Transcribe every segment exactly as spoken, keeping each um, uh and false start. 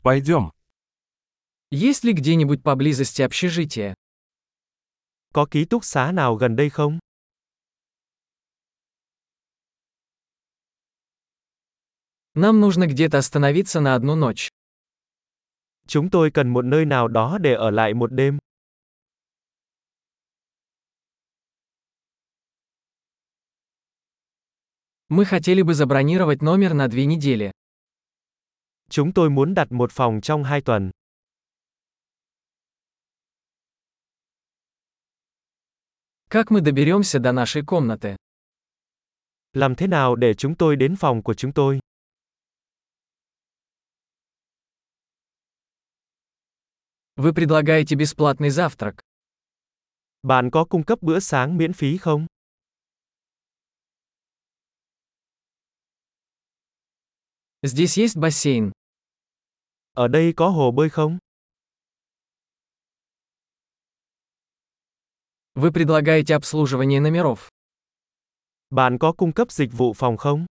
Пойдем. Есть ли где-нибудь поблизости общежитие? Có ký túc xá nào gần đây không? Нам нужно где-то остановиться на одну ночь. Chúng tôi cần một nơi nào đó để ở lại một đêm. Мы хотели бы забронировать номер на две недели. Chúng tôi muốn đặt một phòng trong hai tuần. Как мы доберемся до нашей комнаты? Làm thế nào để chúng tôi đến phòng của chúng tôi? Вы предлагаете бесплатный завтрак. Bạn có cung cấp bữa sáng miễn phí không? Здесь есть бассейн. Ở đây có hồ bơi không? Вы предлагаете обслуживание номеров. Bạn có cung cấp dịch vụ phòng không?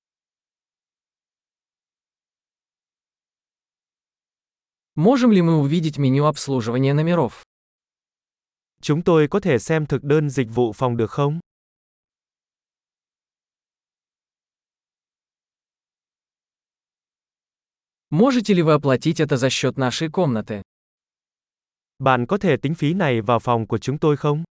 Можем ли мы увидеть меню обслуживания номеров? Chúng tôi có thể xem thực đơn dịch vụ phòng được không? Можете ли вы оплатить это за счет нашей комнаты? Bạn có thể tính phí này vào phòng của chúng tôi không?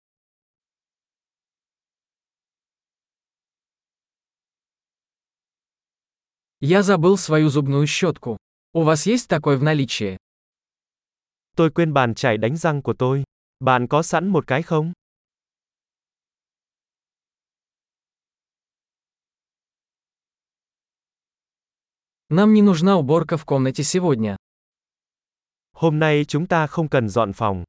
Я забыл свою зубную щетку. У вас есть такой в наличии? Tôi quên bàn chải đánh răng của tôi. Bạn có sẵn một cái không? Нам не нужна уборка в комнате сегодня. Hôm nay chúng ta không cần dọn phòng.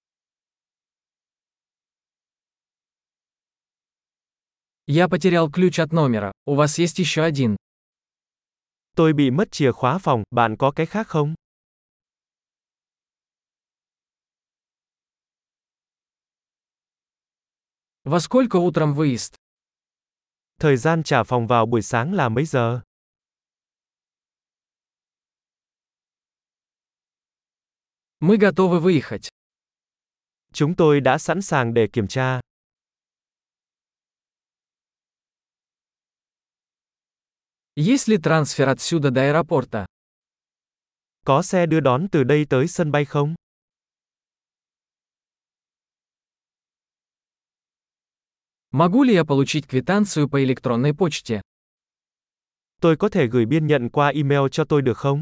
Я потерял ключ от номера. У вас есть еще один? Tôi bị mất chìa khóa phòng, bạn có cái khác không? Во сколько утром выезд? Thời gian trả phòng vào buổi sáng là mấy giờ? Мы готовы выехать. Chúng tôi đã sẵn sàng để kiểm tra. Есть ли трансфер отсюда до аэропорта? Có xe đưa đón từ đây tới sân bay không? Могу ли я получить квитанцию по электронной почте? Tôi có thể gửi biên nhận qua email cho tôi được không?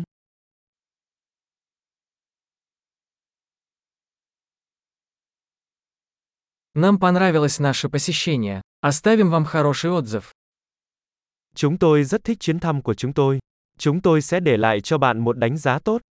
Нам понравилось наше посещение. Оставим вам хороший отзыв. Chúng tôi rất thích chuyến thăm của chúng tôi. Chúng tôi sẽ để lại cho bạn một đánh giá tốt.